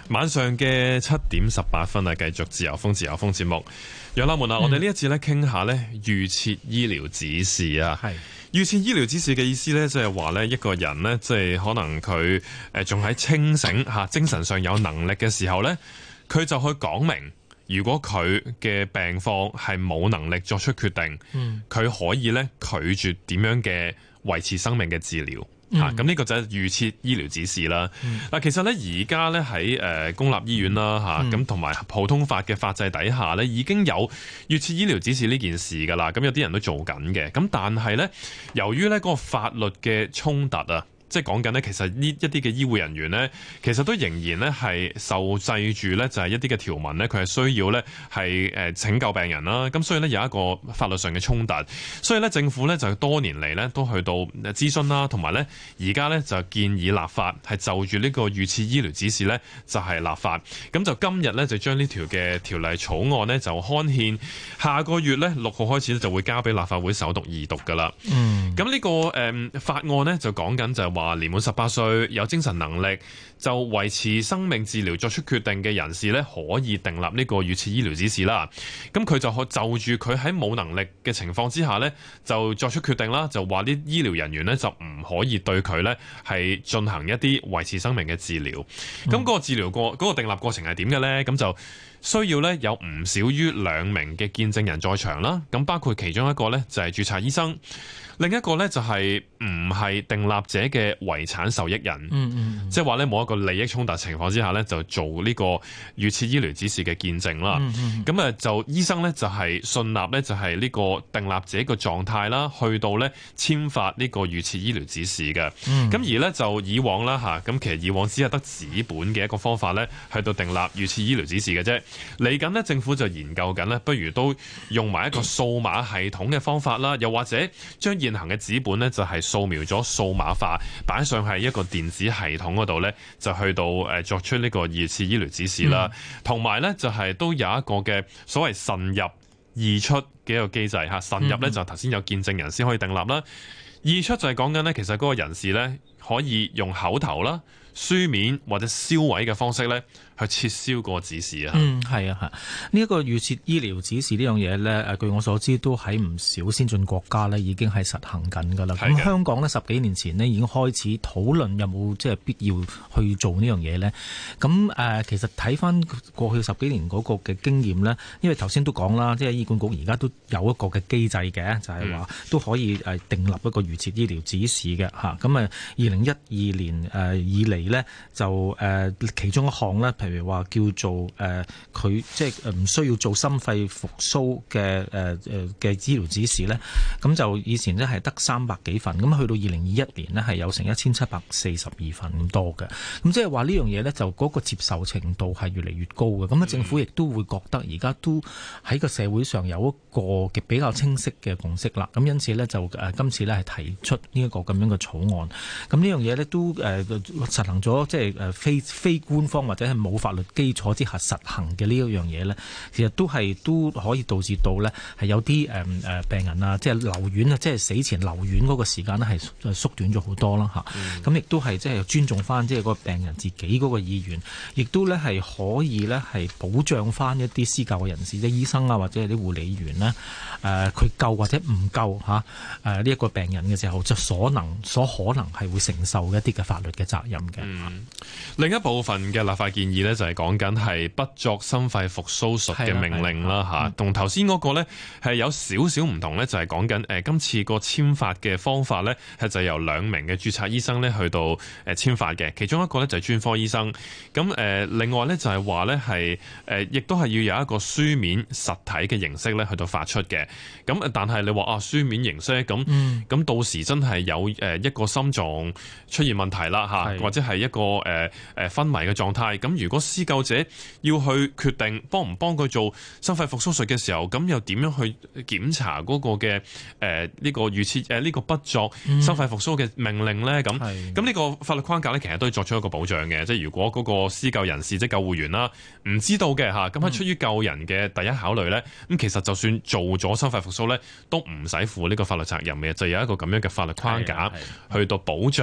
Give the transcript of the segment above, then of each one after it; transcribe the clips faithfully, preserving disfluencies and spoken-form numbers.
晚上嘅七點十八分啊，繼續自由風自由風節目。楊立門啊，嗯、我哋呢一次咧傾下咧預設醫療指示啊。係預設醫療指示嘅意思咧，即係話咧一個人咧，即係可能佢誒仲喺清醒吓、精神上有能力嘅時候咧，佢就去講明，如果佢嘅病況係冇能力作出決定，嗯，佢可以咧拒絕點樣嘅維持生命嘅治療。嚇、嗯，咁呢個就係預設醫療指示啦。嗱、嗯，其實咧而家咧喺誒公立醫院啦嚇，咁同埋普通法嘅法制底下咧，已經有預設醫療指示呢件事㗎啦。咁有啲人都做緊嘅，咁但係咧，由於咧嗰個法律嘅衝突啊。即係講緊呢，其實呢一啲嘅醫護人員呢，其實都仍然呢係受制住呢，就係一啲嘅條文呢，佢係需要呢係誒拯救病人啦。咁所以呢，有一個法律上嘅衝突，所以呢，政府呢就多年嚟呢都去到諮詢啦，同埋呢而家呢就建議立法係就住呢個預設醫療指示呢就係立法。咁就今日呢，就將呢條嘅條例草案呢就刊憲，下個月呢，六號開始就會交俾立法會首讀二讀㗎啦。嗯，咁呢個誒法案呢，就講緊就係話年滿十八歲有精神能力就維持生命治療作出決定嘅人士咧，可以訂立呢個預設醫療指示啦。咁佢就可就住佢喺冇能力嘅情況之下咧，就作出決定啦。就話啲醫療人員咧就唔可以對佢咧係進行一啲維持生命嘅治療。咁、嗯、嗰個治療過嗰個訂立過程係點嘅咧？咁就需要咧有唔少於兩名嘅見證人在場啦。咁包括其中一個咧就係註冊醫生。另一個咧就係唔係訂立者嘅遺產受益人，嗯嗯、即係話咧冇一個利益衝突情況之下咧，就做呢個預設醫療指示嘅見證啦。咁啊、嗯嗯、就醫生咧就係信納咧就係呢個訂立者嘅狀態啦，去到咧簽發呢個預設醫療指示嘅。咁、嗯、而咧就以往啦嚇，咁其實以往只係得紙本嘅一個方法咧，去到訂立預設醫療指示嘅啫。嚟緊呢，政府就研究緊咧，不如都用埋一個數碼系統嘅方法啦，又或者將現行嘅紙本咧就係掃描咗數碼化，擺上係一個電子系統嗰度咧，就去到誒作出呢個預設醫療指示啦。同埋咧就係都有一個嘅所謂慎入易出嘅一個機制嚇。慎入咧就頭先有見證人先可以訂立啦，易出就係講緊咧其實嗰個人士咧可以用口頭啦、書面或者銷毀嘅方式咧。去撤銷個指示啊！ 嗯，係啊，係呢一個預設醫療指示呢樣嘢咧，誒據我所知都喺唔少先進國家咧已經係實行緊㗎啦。咁香港呢，十幾年前呢已經開始討論有冇即係必要去做呢樣嘢咧。咁誒、呃、其實睇翻過去十幾年嗰個嘅經驗咧，因為頭先都講啦，即係醫管局而家都有一個嘅機制嘅，就係、是、話都可以誒訂立一個預設醫療指示嘅嚇。咁啊，二零一二年誒以嚟咧就誒、呃、其中一項咧。譬如話叫做誒，佢、呃、即係唔需要做心肺復甦嘅誒誒嘅醫療指示咧，咁就以前咧係得三百幾份，咁去到二零二一年呢，係有成一千七百四十二份咁多嘅，咁即係話呢樣嘢咧就嗰個接受程度係越嚟越高嘅，咁啊政府亦都會覺得而家都喺個社會上有一個嘅比較清晰嘅共識啦，咁因此咧就誒、呃、今次咧係提出呢一個咁樣嘅草案，咁呢樣嘢咧都誒、呃、實行咗即係誒非非官方或者係冇法律基礎之下實行嘅呢一樣嘢咧，其實都係都可以導致到咧係有啲誒誒病人啊，即係留院啊，即係死前留院嗰個時間咧係縮短咗好多啦嚇。咁亦、嗯、都係即係尊重翻即係個病人自己嗰個意願，亦都咧係可以咧係保障翻一啲施救嘅人士，即係醫生啊或者係啲護理員咧誒佢救或者唔救嚇誒呢一個病人嘅時候，就所能所可能係會承受一啲嘅法律嘅責任嘅、嗯。 另一部分嘅立法建議咧就係講緊係不作心肺復甦術嘅命令啦嚇，同頭先嗰個咧係有少少唔同咧，就係講緊誒今次個簽發嘅方法咧係就由兩名嘅註冊醫生咧去到誒簽發嘅，其中一個咧就係專科醫生，咁誒另外咧就係話咧係誒亦都係要有一個書面實體嘅形式咧去到發出嘅，咁但係你話啊書面形式咁咁、嗯、到時真係有誒一個心臟出現問題啦嚇，或者係一個誒誒昏迷嘅狀態，咁如果施救者要去決定幫唔幫佢做心肺復甦術嘅時候，咁又點樣去檢查嗰個嘅誒呢個預設誒呢個不作心肺復甦嘅命令咧？咁咁呢個法律框架咧，其實都係作出一個保障嘅，即係如果嗰個施救人士即係救護員啦，唔知道嘅嚇，咁係出於救人嘅第一考慮咧，咁其實就算做咗心肺復甦咧，都唔使負呢個法律責任嘅，就有一個咁樣嘅法律框架去到保障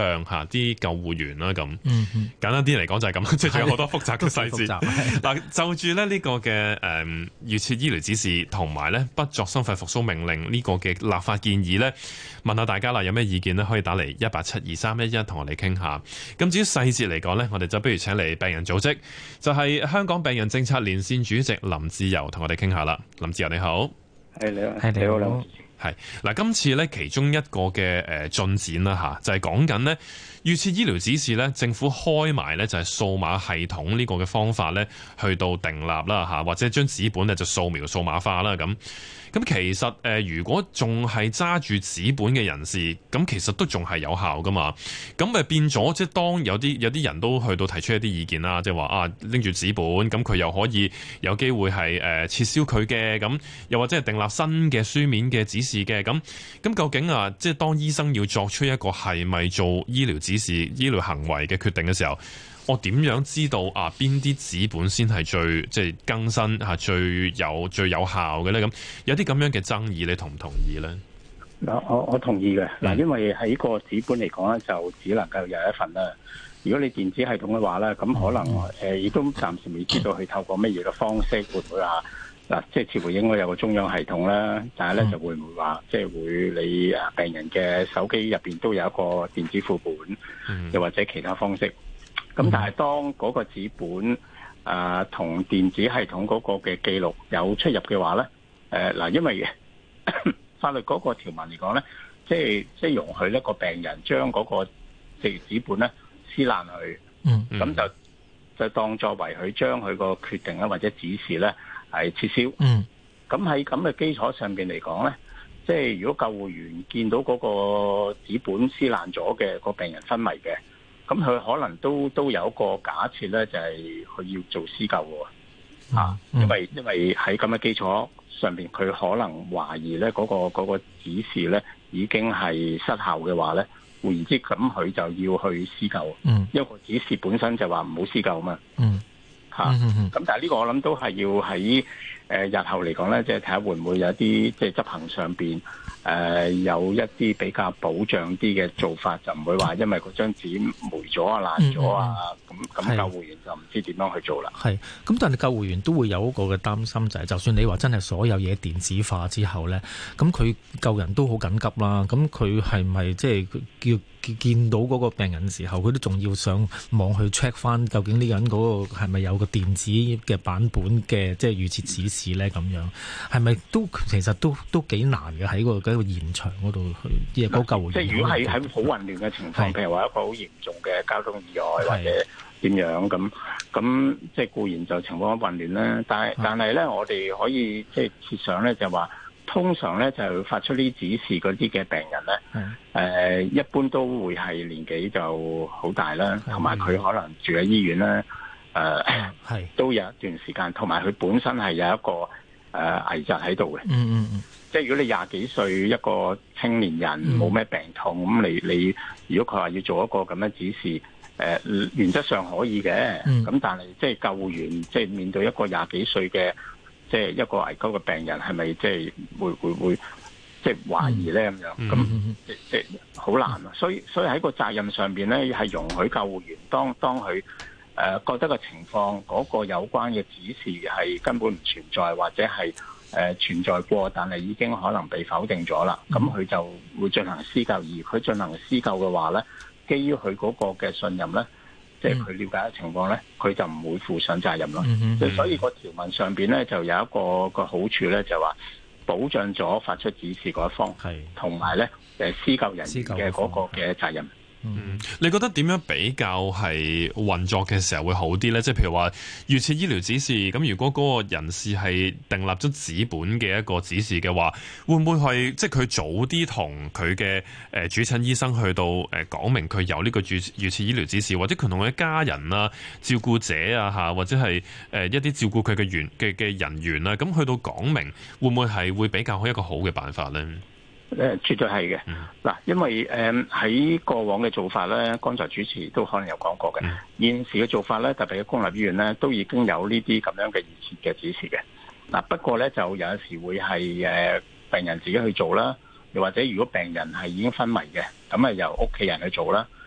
障嚇啲救護員啦咁。 嗯嗯， 簡單啲嚟講就係咁，即係仲有好多複雜嘅細節。嗱，就住咧呢個嘅誒預設醫療指示同埋咧不作心肺復甦命令呢個嘅立法建議咧，問下大家啦，有咩意見呢？可以打嚟一八七二三一一同我哋傾下。咁至於細節嚟講呢，我哋就不如請嚟病人組織，就係、是、香港病人政策連線主席林志釉同我哋傾下啦。林志釉你好， 係你好，係你好，你好。 係嗱，今次咧其中一個嘅誒進展啦嚇，就係講緊呢預設醫療指示咧，政府開埋咧就係數碼系統呢個嘅方法咧，去到訂立啦嚇，或者將紙本咧就掃描數碼化啦咁。咁其實誒、呃，如果仲係揸住紙本嘅人士，咁其實都仲係有效噶嘛。咁咪變咗，即係當有啲有啲人都去到提出一啲意見啦，即係話啊拎住紙本，咁佢又可以有機會係誒、呃、撤銷佢嘅，咁又或者係訂立新嘅書面嘅指示嘅。咁咁究竟啊，即係當醫生要作出一個係咪做醫療指示、醫療行為嘅決定嘅時候，我點樣知道啊邊啲紙本先係最即係更新嚇最有最有效嘅咧？咁有啲咁樣嘅爭議，你同唔同意咧？ 嗱，我我同意嘅。嗱，因為喺個紙本嚟講咧，就只能夠有一份啦。如果你電子系統嘅話咧，咁可能誒亦都暫時未知道佢透過乜嘢嘅方式會唔會話嗱，即係似乎應該有個中央系統啦，但係咧就會唔會話即係會你誒病人嘅手機入邊都有一個電子副本，又或者其他方式。咁但係當嗰個紙本啊同、呃、電子系統嗰個嘅記錄有出入嘅話咧，誒、呃、嗱，因為法律嗰個條文嚟講咧，即係即係容許呢個病人將嗰個即紙本咧撕爛佢，嗯，咁就就當作為佢將佢個決定咧或者指示咧係撤銷，嗯，咁喺咁嘅基礎上邊嚟講咧，即係如果救護員見到嗰個紙本撕爛咗嘅個病人昏迷嘅。咁佢可能都都有一個假設咧，就係、是、佢要做施救喎，嗯啊、因為因為喺咁嘅基礎上邊，佢可能懷疑咧嗰、那個嗰、那個指示咧已經係失效嘅話咧，換言之，咁佢就要去施救，嗯，因為個指示本身就話唔好施救嘛，嗯，嚇、啊，咁、嗯嗯、但係呢個我諗都係要喺誒、呃、日後嚟講咧，即係睇下會唔會有啲即係執行上邊。誒、呃、有一啲比較保障啲嘅做法，就唔會話因為嗰張紙霉咗啊、爛咗啊，咁咁救護員就唔知點樣去做啦。 係，咁但係救護員都會有一個嘅擔心，就係、是、就算你話真係所有嘢電子化之後咧，咁佢救人都好緊急啦。咁佢係咪即係叫見到嗰個病人嘅時候，佢都仲要上網去 check 翻究竟呢個人嗰個係咪有個電子嘅版本嘅即係預設指示咧？咁樣係咪都其實都都幾難嘅喺個喺個現場嗰度去即係嗰救護員。 即係如果係喺好混亂嘅情況，譬如話一個好嚴重嘅交通意外或者點樣咁，咁即係固然就情況混亂啦。但係但係咧，我哋可以即係設想咧，就話。通常咧就發出呢指示嗰啲嘅病人咧，誒、呃、一般都會係年紀就好大啦，同埋佢可能住喺醫院啦，誒、呃、都有一段時間，同埋佢本身係有一個誒、呃、危疾喺度嘅。嗯嗯嗯，即係如果你廿幾歲一個青年人冇咩、嗯、病痛，咁你你如果佢話要做一個咁樣指示，誒、呃、原則上可以嘅，咁、嗯、但係即係救護員即係面對一個廿幾歲嘅。即係一個危急嘅病人，係咪即係會會會即係懷疑咧咁樣？咁即即係好難啊！所以所以喺個責任上邊咧，係容許救護員當當佢誒、呃、覺得個情況嗰、嗰個有關嘅指示係根本唔存在，或者係誒、呃、存在過，但係已經可能被否定咗啦。咁佢就會進行施救，而佢進行施救嘅話咧，基於佢嗰個嘅信任咧。即係佢了解嘅情況咧，佢就唔會負上責任咯。即、嗯、係所以個條文上邊咧，就有一個個好處咧，就話保障咗發出指示嗰一方，同埋咧誒施救人員嘅嗰個嘅責任。 嗯，你覺得點樣比較係運作嘅時候會好啲呢？即係譬如話預設醫療指示，咁如果嗰個人士係訂立咗紙本嘅一個指示嘅話，會唔會係即係佢早啲同佢嘅誒主診醫生去到誒講明佢有呢個預預設醫療指示，或者佢同佢嘅家人啊、照顧者啊嚇，或者係誒一啲照顧佢嘅員嘅嘅人員啊，咁去到講明，會唔會係會比較好一個好嘅辦法呢？ 誒，絕對係嘅。嗱，因為誒喺、嗯、過往嘅做法咧，剛才主持都可能有講過嘅、嗯。現時嘅做法咧，特別係公立醫院咧，都已經有呢啲咁樣嘅預設嘅指示嘅。嗱，不過咧就有時會係誒病人自己去做啦，又或者如果病人係已經昏迷嘅，咁啊由屋企人去做啦。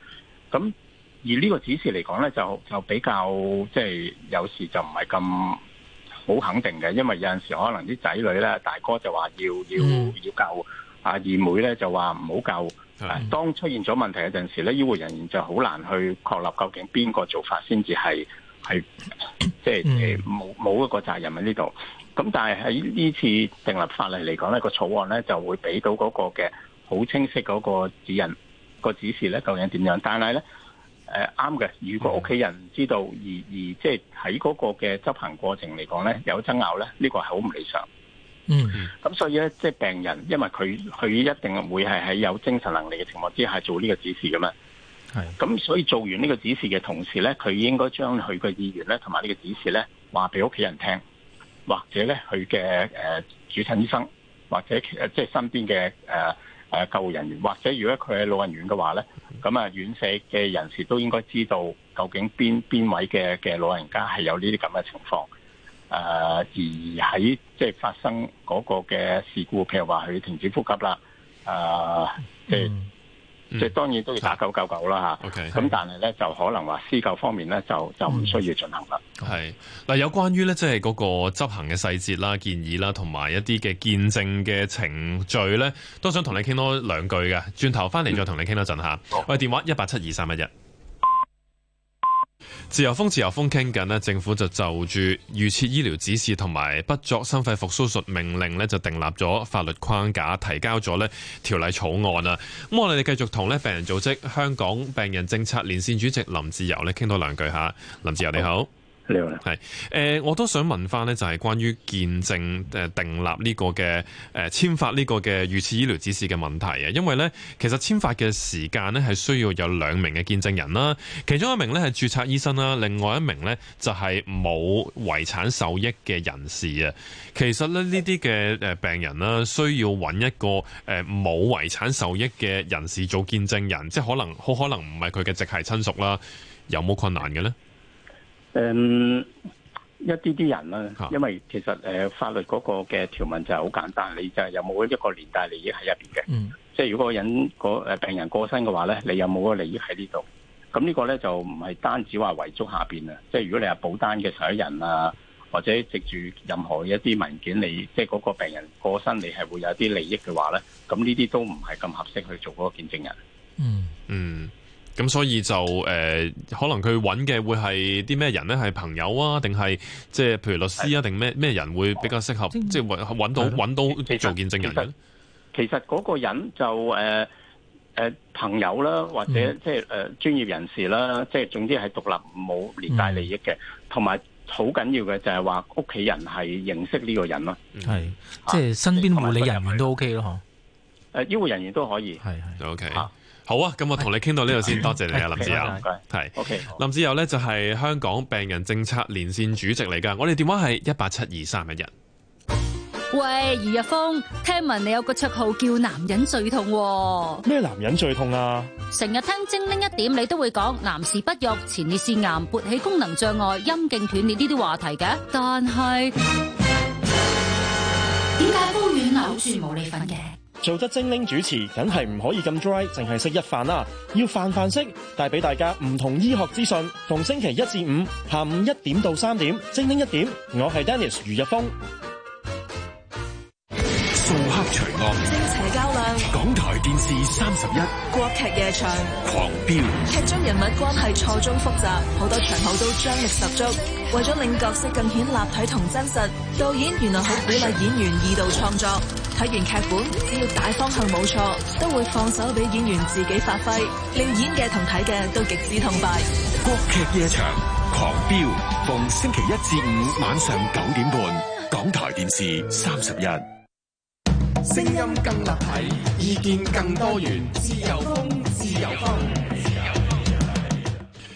咁而呢個指示嚟講咧，就就比較即係有時就唔係咁好肯定嘅，因為有陣時可能啲仔女咧，大哥就話要要、嗯、要救，啊二妹咧就話唔好救。嗯、當出現咗問題嘅陣時咧，醫護人員就好難去確立究竟邊個做法先至係係即係誒冇冇一個責任喺呢度。咁但係喺呢次訂立法例嚟講咧，個草案咧就會俾到嗰個嘅好清晰嗰個指引、個指示咧究竟點樣。但係咧誒啱嘅，如果屋企人唔知道而而即係喺嗰個嘅執行過程嚟講咧有爭拗咧，呢、呢個係好唔理想。嗯，咁所以咧，即係病人，因為佢佢一定會係喺有精神能力嘅情況之下做呢個指示㗎嘛。係，咁所以做完呢個指示嘅同時咧，佢應該將佢嘅意願咧同埋呢個指示咧話俾屋企人聽，或者咧佢嘅誒主診醫生，或者其實即係身邊嘅誒誒救護人員，或者如果佢係老人院嘅話咧，咁啊院舍嘅人士都應該知道究竟邊邊位嘅嘅老人家係有呢啲咁嘅情況。誒、呃、而喺即係發生嗰個嘅事故，譬如話佢停止呼吸啦，誒、呃嗯、即係、嗯、即係當然都要打九九九啦嚇。咁、okay, 但係咧就可能話施救方面咧就就唔需要進行啦。 係嗱，有關於咧即係嗰個執行嘅細節啦、建議啦，同埋一啲嘅見證嘅程序咧，都想同你傾多兩句嘅。轉頭翻嚟再同你傾多陣嚇。我哋電話一八七二三一一。自由風自由風傾緊呢，政府就就住預設醫療指示同埋不作心肺復甦術命令呢，就訂立咗法律框架，提交咗呢條例草案啊。咁我哋繼續同呢病人組織香港病人政策連線主席林志釉呢傾多兩句嚇。林志釉你好。 你好， 係誒、呃，我都想問翻呢，就係關於見證誒訂立呢個嘅誒簽發呢個嘅預設醫療指示嘅問題啊。因為呢，其實簽發嘅時間呢係需要有兩名嘅見證人啦，其中一名呢係註冊醫生啦，另外一名呢就係冇遺產受益嘅人士啊。其實咧呢啲嘅誒病人啦，需要揾一個誒冇遺產受益嘅人士做見證人，即係可能好可能唔係佢嘅直系親屬啦，有冇困難嘅呢？ 誒、嗯、一啲啲人啦，因為其實誒、呃、法律嗰個嘅條文就係好簡單，你就係有冇一個連帶利益喺入邊嘅。嗯，即係如果個人個誒病人過身嘅話咧，你有冇個利益喺呢度？咁呢個咧就唔係單止話遺囑下邊啊，即係如果你係保單嘅受益人啊，或者藉住任何一啲文件，你即係嗰個病人過身，你係會有啲利益嘅話咧，咁呢啲都唔係咁合適去做嗰個見證人。嗯嗯。咁所以就誒、呃，可能佢揾嘅會係啲咩人咧？係朋友啊，定係即係譬如律師啊，定咩咩人會比較適合？即係揾揾到揾到做見證人嘅？ 其實嗰個人就誒誒、呃呃、朋友啦，或者即係誒專業人士啦，即係總之係獨立冇連帶利益嘅，同埋好緊要嘅就係話屋企人係認識呢個人咯。係、嗯， 即係身邊護理人員都 OK 咯， 嗬？誒醫護人員都可以， 係係 OK。好啊，咁我同你傾到呢度先，多謝你啊，林志釉。係 ，OK。 林志釉呢就係香港病人政策連線主席嚟㗎。我哋電話係一八七二三一一。 喂，余日峰，聽聞你有個綽號叫男人最痛喎。 咩男人最痛啊？ 成日聽精靈一點，你都會講男士不育、前列腺癌、勃起功能障礙、陰莖斷裂呢啲話題嘅，但係點解煲丸扭住冇你份嘅？ 做得精靈主持，梗係唔可以咁 dry，淨係識一飯啦，要飯飯識，帶俾大家唔同醫學資訊。逢星期一至五下午一點到三點，精靈一點，我係 Dennis 余日峰。 掃黑除惡， 正邪較量， 港台電視三十一， 國劇夜場， 狂飆， 劇中人物關係錯綜複雜，好多場口都張力十足。為咗令角色更顯立體同真實，導演原來好鼓勵演員二度創作。睇完劇本，只要大方向冇錯，都會放手俾演員自己發揮，令演嘅同睇嘅都極之痛快。 國劇夜場，狂飆，逢星期一至五晚上九點半，港台電視三十一。 聲音更立體，意見更多元，自由風，自由風。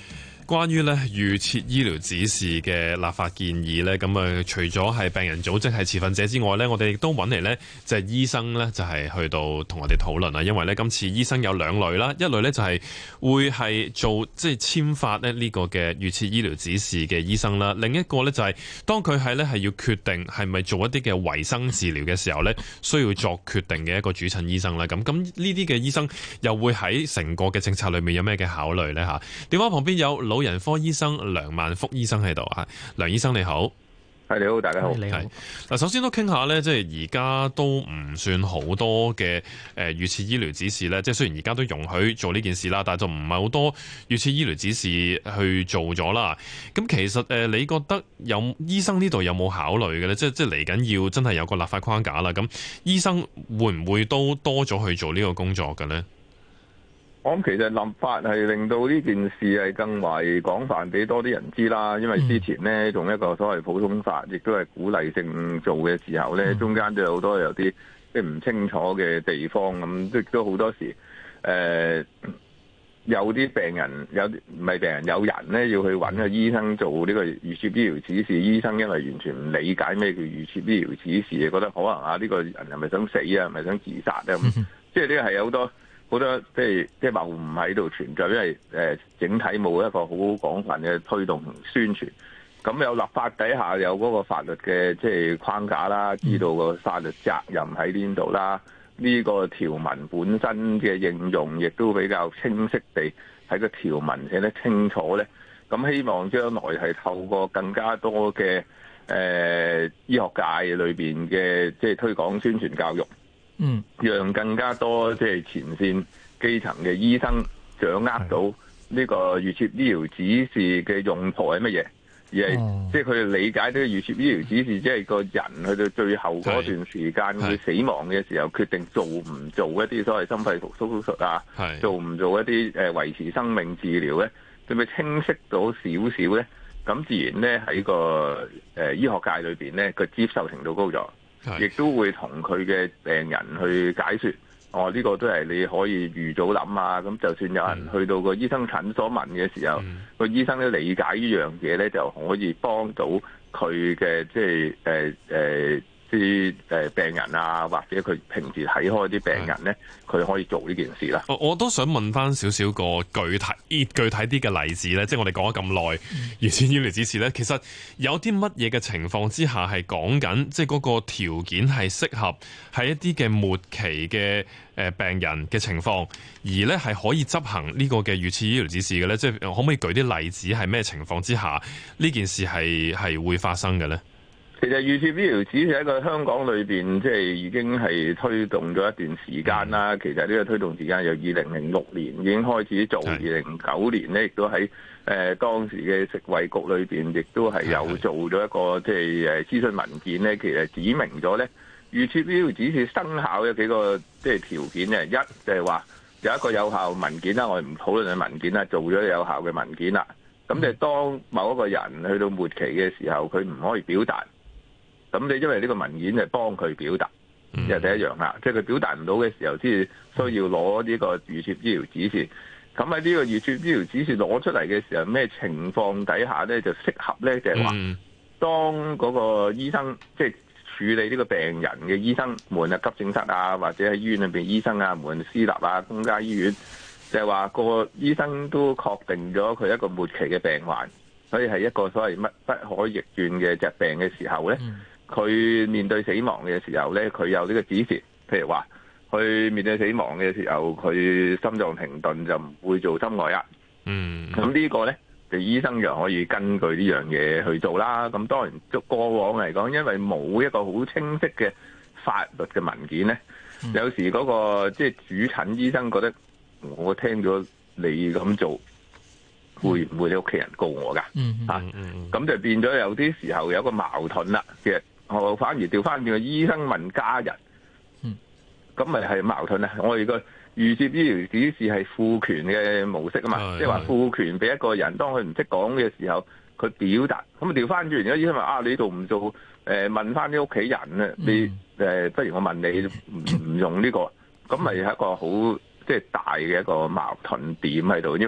關於咧預設醫療指示嘅立法建議咧，咁啊除咗係病人組織係持份者之外咧，我哋亦都揾嚟咧就係醫生咧，就係去到同我哋討論啊。因為咧今次醫生有兩類啦，一類咧就係會係做即係簽發咧呢個嘅預設醫療指示嘅醫生啦，另一個咧就係當佢係咧係要決定係咪做一啲嘅維生治療嘅時候咧，需要作決定嘅一個主診醫生啦。咁咁呢啲嘅醫生又會喺成個嘅政策裏面有咩嘅考慮呢？嚇，電話旁邊有老人科醫生梁萬福醫生喺度啊，梁醫生你好。 係你好，大家好。 你好。 嗱，首先都傾下咧，即係而家都唔算好多嘅誒預設醫療指示咧。即係雖然而家都容許做呢件事啦，但係就唔係好多預設醫療指示去做咗啦。咁其實誒，你覺得有醫生呢度有冇考慮嘅咧？即係即係嚟緊要真係有個立法框架啦。咁醫生會唔會都多咗去做呢個工作嘅咧？ 我諗其實立法係令到呢件事係更為廣泛，俾多啲人知啦。因為之前呢，用一個所謂普通法，亦都係鼓勵性做嘅時候呢，中間都有好多有啲即係唔清楚嘅地方咁，亦都好多時誒、呃、有啲病人有唔係病人有人呢要去揾個醫生做呢個預設醫療指示，醫生因為完全唔理解咩叫預設醫療指示，覺得可能啊呢個人係咪想死啊，係咪想自殺啊咁，即係呢個係有好多。好多即係即係謬誤喺度存在，因為誒、呃、整體冇一個好廣泛嘅推動同宣傳。咁有立法底下有嗰個法律嘅即係框架啦，知道個法律責任喺邊度啦。呢、這個條文本身嘅應用亦都比較清晰地喺個條文寫得清楚咧。咁希望將來係透過更加多嘅誒、呃、醫學界裏邊嘅即係推廣宣傳教育。嗯，讓更加多即係前線基層嘅醫生掌握到呢個預設醫療指示嘅用途係乜嘢，而係、哦、即係佢哋理解呢個預設醫療指示，即係個人去到最後嗰段時間佢死亡嘅時候，決定做唔做一啲所謂心肺復甦手術啊，做唔做一啲誒維持生命治療咧，對咪清晰到少少咧？咁自然咧喺個誒醫學界裏邊咧個接受程度高咗。亦都會同佢嘅病人去解說，哦呢、這個都係你可以預早諗啊。咁就算有人去到個醫生診所問嘅時候，個、嗯、醫生都理解呢樣嘢咧，就可以幫到佢嘅即係誒誒啲誒病人啊，或者佢平時睇開啲病人咧，佢可以做呢件事啦。 我我都想問翻少少個具體具體啲嘅例子咧，即係我哋講咗咁耐預設醫療指示咧，其實有啲乜嘢嘅情況之下係講緊，即係嗰個條件係適合喺一啲嘅末期嘅誒病人嘅情況，而咧係可以執行呢個嘅預設醫療指示嘅咧，即係可唔可以舉啲例子係咩情況之下呢件事係係會發生嘅咧？ 其實預設醫療指示喺個香港裏邊，即係已經係推動咗一段時間啦。其實呢個推動時間由二零零六年已經開始做，二零零九年咧亦都喺誒當時嘅食衞局裏邊，亦都係有做咗一個即係誒諮詢文件咧。其實指明咗咧，預設醫療指示生效有幾個即係條件嘅。一就係話有一個有效文件啦，我哋唔討論嘅文件啦，做咗有效嘅文件啦。咁就當某一個人去到末期嘅時候，佢唔可以表達。咁你因為呢個文件係幫佢表達，又、嗯、第一樣啦，即係佢表達唔到嘅時候，先需要攞呢個預設醫療指示。咁喺呢個預設醫療指示攞出嚟嘅時候，咩情況底下咧就適合咧？就係、是、話，當嗰個醫生即係、就是、處理呢個病人嘅醫生，無論係急症室啊，或者喺醫院裏邊醫生啊，無論私立啊、公家醫院，就係、是、話個醫生都確定咗佢一個末期嘅病患，所以係一個所謂乜不可逆轉嘅疾病嘅時候咧。嗯佢面對死亡嘅時候咧，佢有呢個指示，譬如話，佢面對死亡嘅時候，佢心臟停頓就唔會做心外壓。嗯，咁呢個咧，就醫生就可以根據呢樣嘢去做啦。咁當然，過往嚟講，因為冇一個好清晰嘅法律嘅文件咧，嗯、有時嗰、那個即係、就是、主診醫生覺得，我聽咗你咁做，會唔會你屋企人告我㗎？嗯嗯嗯，咁、啊、就變咗有啲時候有一個矛盾啦。其實我反而調翻轉個醫生問家人，咁咪係矛盾咧？我哋個預設醫療指示係賦權嘅模式啊嘛，即係話賦權俾一個人，當佢唔識講嘅時候，佢表達。咁啊調翻轉，而家醫生話啊，你做唔做？誒、呃、問翻啲屋企人咧，你誒、呃、不如我問你唔唔用呢、這個，咁咪係一個好即係大嘅一個矛盾點喺度，因為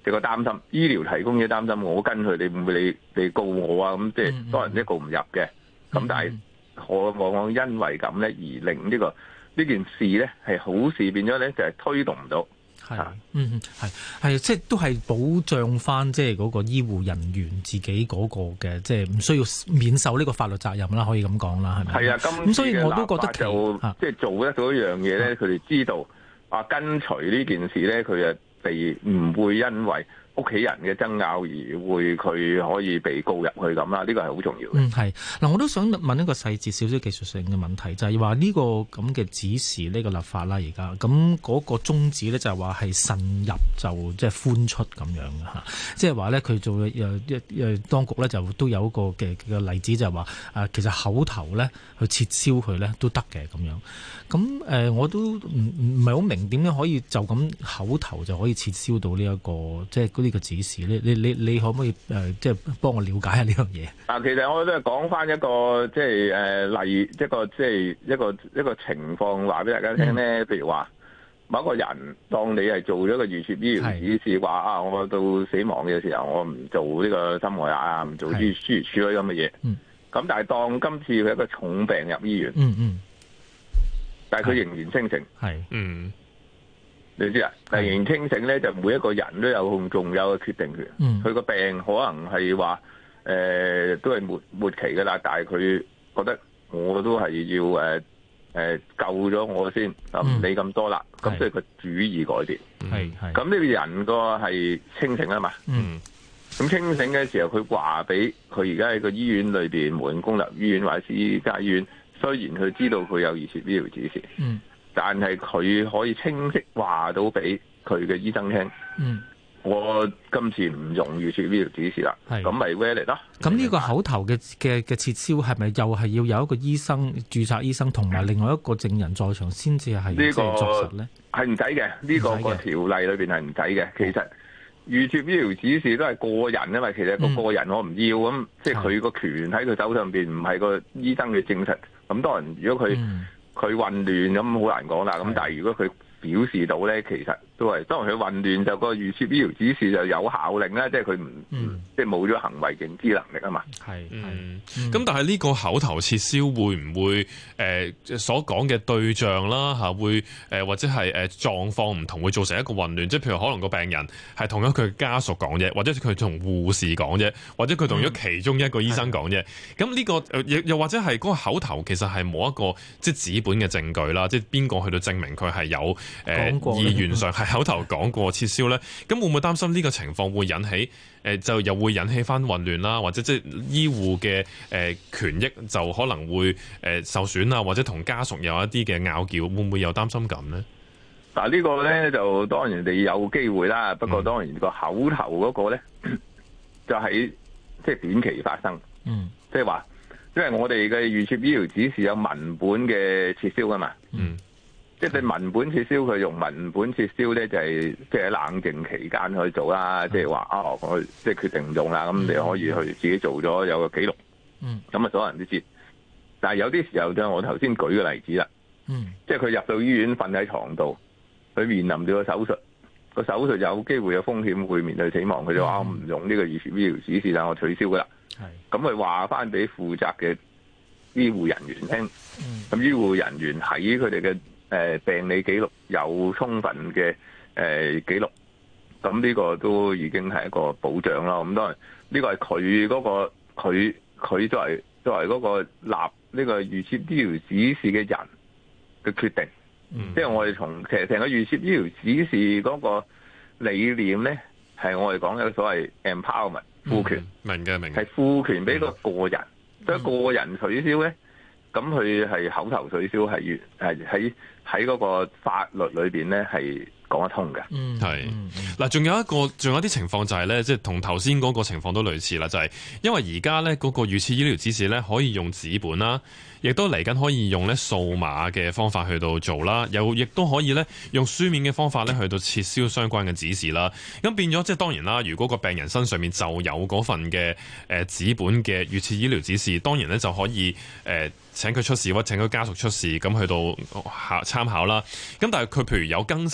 即係個擔心，醫療提供者擔心，我跟佢，你會唔會你你告我啊？咁即係當然即係告唔入嘅。咁但係我往往因為咁咧，而令呢、呢個呢件事咧係好事變咗咧，就係推動唔到。 係，嗯，係係，即係都係保障翻即係嗰個醫護人員自己嗰個嘅，即係唔需要免受呢個法律責任啦，可以咁講啦，係咪？係啊，咁所以我都覺得就即係做得到一樣嘢咧，佢哋知道啊，跟隨呢件事咧，佢就被唔會因為屋企人嘅爭拗而會佢可以被告入去咁啦，呢個係好重要嘅。嗯，係嗱，我都想問一個細節少少技術性嘅問題，就係話呢個咁嘅指示呢個立法啦，而家咁嗰個宗旨咧就係話係慎入就即係寬出咁樣嘅嚇，即係話咧佢做誒一誒當局咧就都有一個嘅嘅例子就係話誒其實口頭咧去撤銷佢咧都得嘅咁樣。咁誒、呃、我都唔唔係好明點樣可以就咁口頭就可以撤銷到呢、這、一個即係呢個指示咧？你你你可唔可以誒、呃、即係幫我了解下呢樣嘢？ 啊，其實我都係講翻一個即係誒例一個即係一個一個情況話俾大家聽咧。譬、嗯、如話某一個人當你係做咗個預設醫療指示，話啊我到死亡嘅時候我唔做呢個心外壓啊，唔做諸如此類咁嘅嘢。嗯。咁但係當今次佢一個重病入醫院。嗯嗯。但係佢仍然清醒，係，嗯，你知啊？但係仍然清醒咧，就每一個人都有仲有個決定權。嗯，佢個病可能係話，誒、呃，都係末末期噶啦，但係佢覺得我都係要誒誒、呃呃、救咗我先，唔理咁多啦。咁所以佢主意改變，係係。咁呢個人個係清醒啊嘛。嗯。咁清醒嘅時候，佢話俾佢而家喺個醫院裏邊，無論公立醫院或者私家醫院。雖然佢知道佢有預設醫療指示，嗯，但係佢可以清晰話到俾佢嘅醫生聽，嗯，我今次唔用預設醫療指示啦，係，咁咪 valid 咯。 咁呢個口頭嘅嘅嘅撤銷係咪又係要有一個醫生註冊醫生同埋另外一個證人在場先至係即係作實咧？係唔使嘅，呢、呢個個條例裏邊係唔使嘅。其實預設醫療指示都係個人，因為其實個個人我唔要咁、嗯，即係佢個權喺佢手上邊，唔係個醫生嘅證實。咁當然，如果佢佢、嗯、混亂咁好難講啦。咁但係如果佢表示到咧，其實都係當然佢混亂就個預設醫療指示就有效令啦，即係佢唔即係冇咗行為認知能力啊嘛。係， 嗯。咁、嗯、但係呢個口頭撤銷會唔會誒、呃、所講嘅對象啦嚇會誒、呃、或者係誒狀況唔同，會造成一個混亂？即係譬如可能個病人係同咗佢家屬講啫，或者佢同護士講啫，或者佢同咗其中一個醫生講啫。咁、嗯、呢、這個又又或者係嗰個口頭其實係冇一個即係紙本嘅證據啦，即係邊個去到證明佢係有？誒、呃、意願上係口頭講過撤銷咧，咁會唔會擔心呢個情況會引起誒、呃、就又會引起翻混亂啦，或者即係醫護嘅誒、呃、權益就可能會誒、呃、受損啊，或者同家屬有一啲嘅拗撬，會唔會有擔心咁呢？ 嗱、這個、呢個咧就當然你有機會啦，不過當然個口頭嗰個咧、嗯、就喺即係短期發生，嗯，即係話因為我哋嘅預設醫療指示有文本嘅撤銷噶嘛，嗯。即係文本撤銷，佢用文本撤銷咧，就係即係喺冷靜期間去做啦。即係話啊，我即係決定唔用啦，咁你可以去自己做咗有個記錄。嗯，咁啊，所有人都知。但係有啲時候就我頭先舉嘅例子啦。嗯，即係佢入到醫院瞓喺床度，佢面臨住個手術，個手術有機會有風險會面對死亡，佢就話我唔用呢個預設醫療指示，但我取消噶啦。係，咁佢話翻俾負責嘅醫護人員聽。嗯，咁醫護人員喺佢哋嘅誒病理記錄有充分嘅誒記錄，咁呢個都已經係一個保障啦。咁當然呢個係佢嗰個佢佢作為作為嗰個立呢個預設醫療指示嘅人嘅決定。嗯，即係我哋從其實成個預設醫療指示嗰個理念咧，係我哋講嘅所謂 empowerment 賦權， 明嘅明嘅， 係賦權俾個個人，所以個人取消咧。咁佢係口頭取消，係越係喺喺嗰個法律裏邊咧係講得通嘅。 嗯，係嗱，仲有一個，仲有啲情況就係咧，即係同頭先嗰個情況都類似啦，就係、是、因為而家咧嗰個預設醫療指示咧可以用紙本啦，亦都嚟緊可以用咧數碼嘅方法去到做啦，又亦都可以咧用書面嘅方法咧去到撤銷相關嘅指示啦。咁變咗即係當然啦，如果個病人身上面就有嗰份嘅誒紙本嘅預設醫療指示，當然咧就可以誒。呃請佢出示或者請佢家屬出示，咁去到考參考啦。咁但係佢譬如有更新咗嘅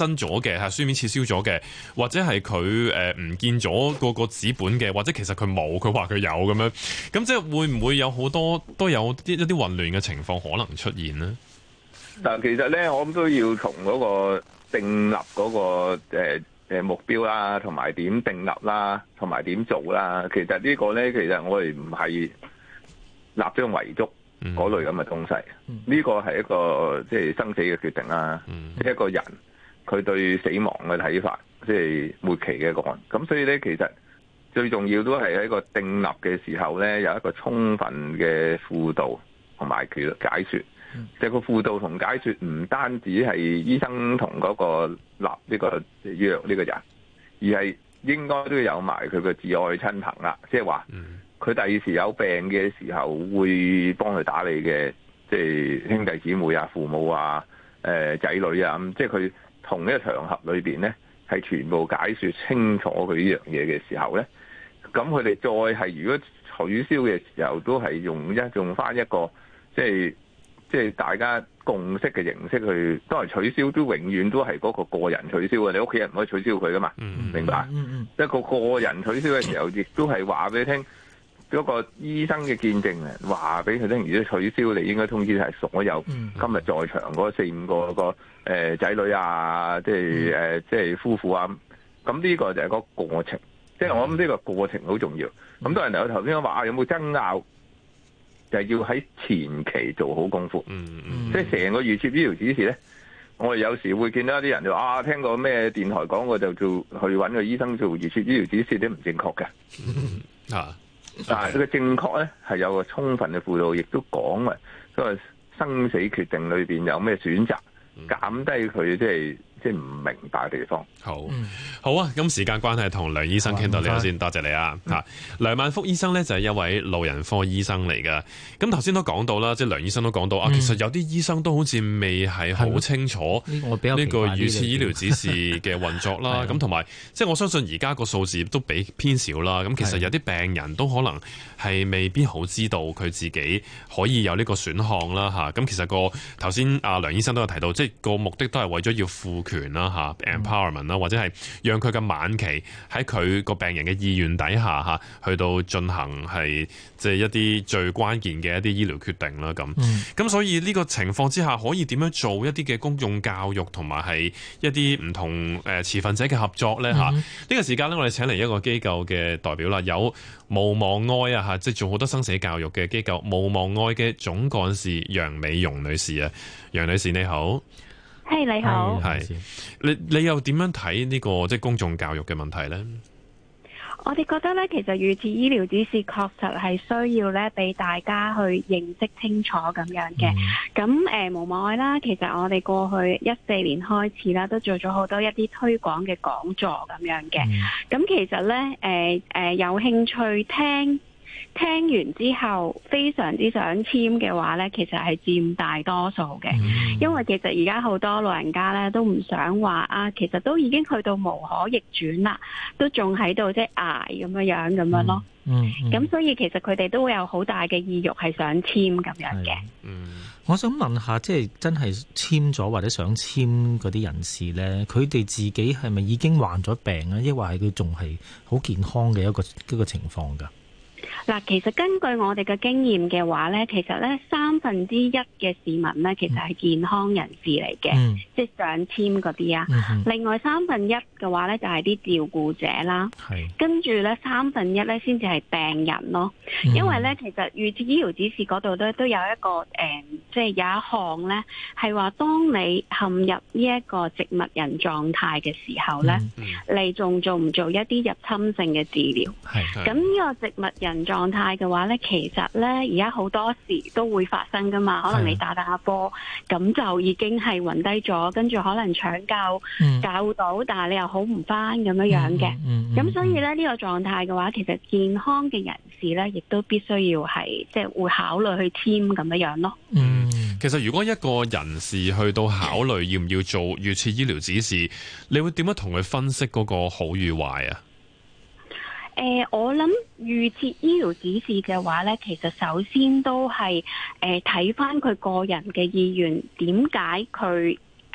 嘅，係書面撤銷咗嘅，或者係佢誒唔見咗個個紙本嘅，或者其實佢冇，佢話佢有咁樣，咁即係會唔會有好多都有啲一啲混亂嘅情況可能出現呢？ 嗱，其實咧，我諗都要從嗰個訂立嗰個誒誒目標啦，同埋點訂立啦，同埋點做啦。其實呢個咧，其實我哋唔係立章遺囑嗰類咁嘅東西。呢、嗯、個係一個即係、就是、生死嘅決定啦。嗯、一個人佢對死亡嘅睇法，即、就、係、是、末期嘅個案。咁所以咧，其實最重要都係喺個訂立嘅時候咧，有一個充分嘅輔導同埋佢解說。即係個輔導同解說唔單止係醫生同嗰個立呢個藥呢個人，而係應該都要有埋佢個至愛親朋啦。即係話佢第二時有病嘅時候會幫佢打理嘅，即係兄弟姊妹啊、父母啊、誒仔女啊，咁即係佢同一個場合裏邊咧，係全部解說清楚佢呢樣嘢嘅時候咧，咁佢哋再係如果取消嘅時候，都係用一用翻一個即係。即係大家共識嘅形式去，都係取消，都永遠都係嗰個個人取消嘅。你屋企人唔可以取消佢噶嘛？嗯、明白？嗯、一個個人取消嘅時候，亦都係話俾你聽，嗰個醫生嘅見證啊，話俾佢聽，如果取消，你應該通知係所有今日在場嗰四五個個誒仔女啊，即係誒即係夫婦啊。咁呢個就係個過程。即係我諗呢個過程好重要。咁多人嚟，我頭先話啊，有冇爭拗？就係要喺前期做好功夫，嗯嗯、即係成個預設醫療指示咧，我哋有時會見到一啲人就話啊，聽過咩電台講過就做去揾個醫生做預設醫療指示，都唔正確嘅。啊，但係佢嘅正確咧係有個充分嘅輔導，亦都講嘅，嗰個生死決定裏邊有咩選擇，減低佢即係即係唔明白嘅地方。 好，好啊！咁時間關係，同梁醫生傾到呢度先，多謝你啊！嚇、嗯，梁萬福醫生呢就係一位老人科醫生嚟㗎。咁頭先都講到啦，即係梁醫生都講到、嗯、啊，其實有啲醫生都好似未係好清楚呢個預設醫療指示嘅運作啦。咁同埋，即係我相信而家個數字都比偏少啦。咁其實有啲病人都可能係未必好知道佢自己可以有呢個選項啦。嚇，咁其實個頭先阿梁醫生都有提到，即係個目的都係為咗要賦權啦，嚇 empowerment 啦。或者係讓佢嘅晚期喺佢個病人嘅意願底下嚇，去到進行係即係一啲最關鍵嘅一啲醫療決定啦。咁咁、嗯、所以呢個情況之下，可以點樣做一啲嘅公眾教育同埋係一啲唔同誒持份者嘅合作咧？嚇、嗯，呢、這個時間咧，我哋請嚟一個機構嘅代表啦，有無望愛啊嚇，即係做好多生死教育嘅機構無望愛嘅總幹事楊美蓉女士啊，楊女士你好。 係、hey, 你好， 係你你又點樣睇呢、這個即係公眾教育嘅問題呢？ 我哋覺得咧，其實預設醫療指示確實係需要咧，俾大家去認識清楚咁樣嘅。咁誒、嗯，無望愛啦，其實我哋過去一四年開始啦，都做咗好多一啲推廣嘅講座咁樣嘅。咁、嗯、其實咧，誒、呃、誒、呃，有興趣聽。聽完之後非常之想簽嘅話呢，其實係佔大多數嘅，嗯、因為其實而家好多老人家呢都唔想話啊，其實都已經去到無可逆轉啦，都仲喺度即係捱咁樣樣咁樣咯。嗯，咁、嗯、所以其實佢哋都會有好大嘅意欲係想簽咁樣嘅。 嗯，我想問下，即係真係簽咗或者想簽嗰啲人士呢，佢哋自己係咪已經患咗病啊？抑或係佢仲係好健康嘅一個一個情況㗎？ 嗱，其實根據我哋嘅經驗嘅話咧，其實咧三分之一嘅市民咧，其實係健康人士嚟嘅，嗯、即係想簽嗰啲啊。嗯、哼另外三分一嘅話咧，就係、是、啲照顧者啦。係是。跟住咧三分一咧，先至係病人咯。嗯、因為咧，其實預設醫療指示嗰度咧，都有一個誒、呃，即係有一項咧，係話當你陷入呢一個植物人狀態嘅時候咧，嗯嗯、你仲做唔做一啲入侵性嘅治療？係。咁呢個植物人狀狀態嘅話咧，其實咧而家好多時都會發生噶嘛，可能你打打下波，咁就已經係暈低咗，跟住可能搶救、嗯、救到，但係你又好唔翻咁樣樣嘅。咁、嗯嗯嗯、所以咧呢、這個狀態嘅話，其實健康嘅人士咧，亦都必須要係即係會考慮去簽咁樣樣咯。 嗯，其實如果一個人士去到考慮要唔要做預設醫療指示，你會點樣同佢分析嗰個好與壞啊？ 誒、呃，我諗預設醫療指示嘅話咧，其實首先都係誒睇翻佢個人嘅意願，點解佢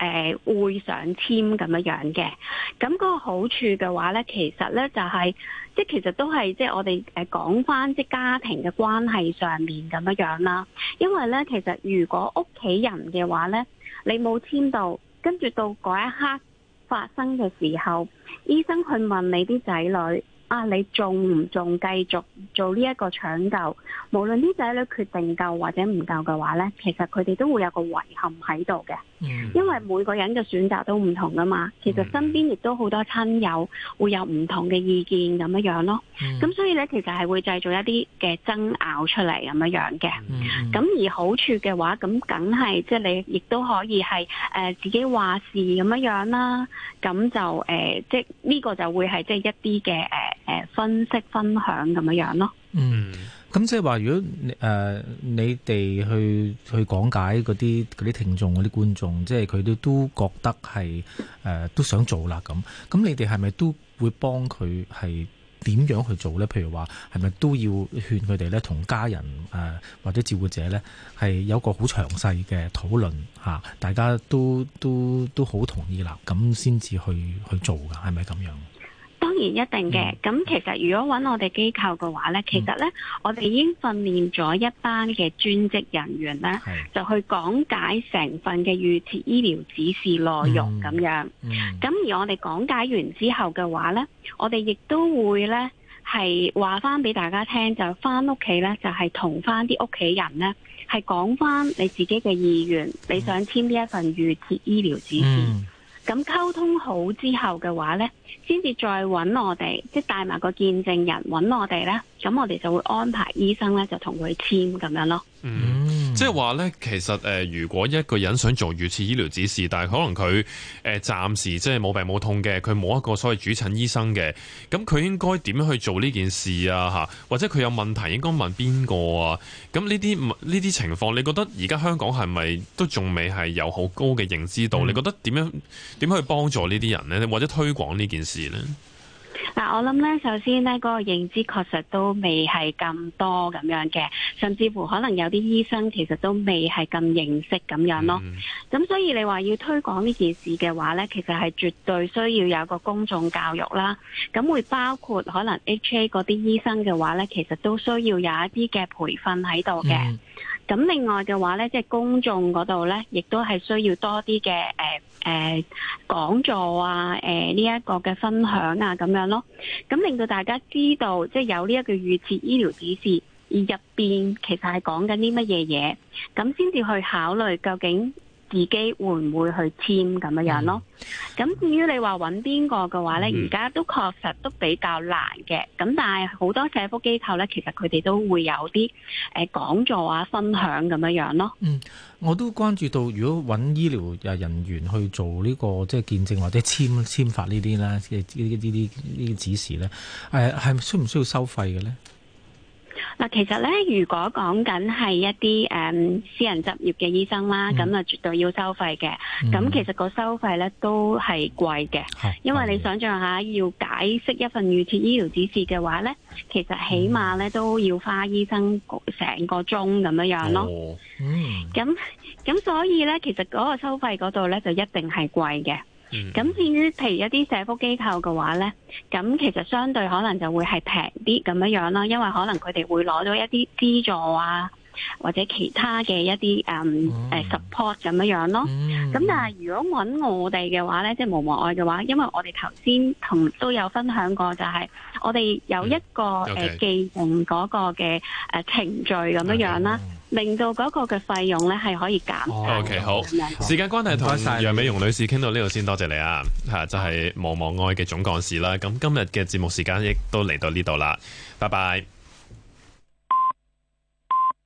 誒會上簽咁樣樣嘅。咁嗰個好處嘅話咧，其實咧就係即係其實都係即係我哋誒講翻即係家庭嘅關係上面咁樣樣啦。因為咧其實如果屋企人嘅話咧，你冇簽到，跟住到嗰一刻發生嘅時候，醫生去問你啲仔女啊，你仲唔仲繼續做呢一個搶救？無論啲仔女決定救或者唔救嘅話呢，其實佢哋都會有個遺憾喺度嘅。嗯、因為每個人嘅選擇都唔同噶嘛。其實身邊亦都好多親友會有唔同嘅意見咁樣樣咯。咁、嗯、所以呢，其實係會製造一啲嘅爭拗出嚟咁樣樣嘅。咁、嗯、而好處嘅話，咁梗係即係你亦都可以係誒、呃、自己話事咁樣樣啦。咁就誒、呃、即係呢個就會係即係一啲嘅誒誒分析分享咁樣樣咯。 嗯。咁即係話，如果誒、呃、你哋去去講解嗰啲嗰啲聽眾嗰啲觀眾，即係佢哋都覺得係誒、呃、都想做啦咁，咁你哋係咪都會幫佢係點樣去做咧？譬如話係咪都要勸佢哋咧，同家人誒、呃、或者照顧者咧係有個好詳細嘅討論嚇，大家都都都好同意啦，咁先至去去做㗎，係咪咁樣？ 當然一定嘅，咁、嗯、其實如果揾我哋機構嘅話呢、嗯、其實呢，我哋已經訓練咗一班嘅專職人員呢，就去講解成份嘅預設醫療指示內容咁樣。咁、嗯嗯、而我哋講解完之後嘅話呢，我哋亦都會呢係話翻俾大家聽，就翻屋企呢，就係同翻啲屋企人呢，係講翻你自己嘅意願，嗯、你想簽呢一份預設醫療指示。嗯咁溝通好之後嘅話呢，先至再揾我哋，即係帶埋個見證人揾我哋呢。咁我哋就會安排醫生呢，就同佢簽咁樣咯。 嗯，即係話呢，其實誒、呃，如果一個人想做預設醫療指示，但係可能佢誒、呃、暫時即係冇病冇痛嘅，佢冇一個所謂主診醫生嘅，咁佢應該點樣去做呢件事啊？嚇，或者佢有問題應該問邊個啊？咁呢啲呢啲情況，你覺得而家香港係咪都仲未係有好高嘅認知度？嗯、你覺得點樣點樣去幫助呢啲人呢？或者推廣呢件事呢？ 嗱，我諗咧，首先咧，嗰個認知確實都未係咁多咁樣嘅，甚至乎可能有啲醫生其實都未係咁認識咁樣咯。咁、嗯、所以你話要推廣呢件事嘅話咧，其實係絕對需要有個公眾教育啦。咁會包括可能 H A 嗰啲醫生嘅話咧，其實都需要有一啲嘅培訓喺度嘅。嗯咁另外嘅話咧，即係公眾嗰度咧，亦都係需要多啲嘅誒誒講座啊，誒呢一個嘅分享啊，咁樣咯。咁令到大家知道，即係有呢一個預設醫療指示，而入邊其實係講緊啲乜嘢嘢，咁先至去考慮究竟自己會唔會去簽咁樣樣咯？咁、嗯、至於你話揾邊個嘅話呢，而家、嗯、都確實都比較難嘅。咁但係好多社福機構呢，其實佢哋都會有啲誒講座啊、分享咁樣樣咯。嗯， 我都關注到，如果揾醫療人員去做呢、這個即係見證或者簽簽發呢啲呢，即係呢啲呢啲呢啲指示呢，誒係需唔需要收費嘅呢？ 嗱，其實咧，如果講緊係一啲誒、嗯、私人執業嘅醫生啦，咁啊、嗯、絕對要收費嘅。咁、嗯、其實個收費咧都係貴嘅，嗯、因為你想象下要解釋一份預設醫療指示嘅話咧，其實起碼咧都要花醫生成個鐘咁樣樣咯。哦、嗯。咁咁所以咧，其實嗰個收費嗰度咧就一定係貴嘅。咁、嗯、至於譬如一啲社福機構嘅話呢，咁其實相對可能就會係平啲咁樣樣啦，因為可能佢哋會攞到一啲資助啊，或者其他嘅一啲誒誒 support 咁樣樣咯。咁、嗯、但係如果揾我哋嘅話呢，即係無望愛嘅話，因為我哋頭先同都有分享過，就係我哋有一個誒既定嗰個嘅誒程序咁樣樣啦。嗯令到嗰個嘅費用咧係可以減。 O、okay, K 好，時間關係同楊美容女士傾到呢度先，多謝你啊！嚇，就係無望愛嘅總幹事啦。咁今日嘅節目時間亦都嚟到呢度啦，拜拜。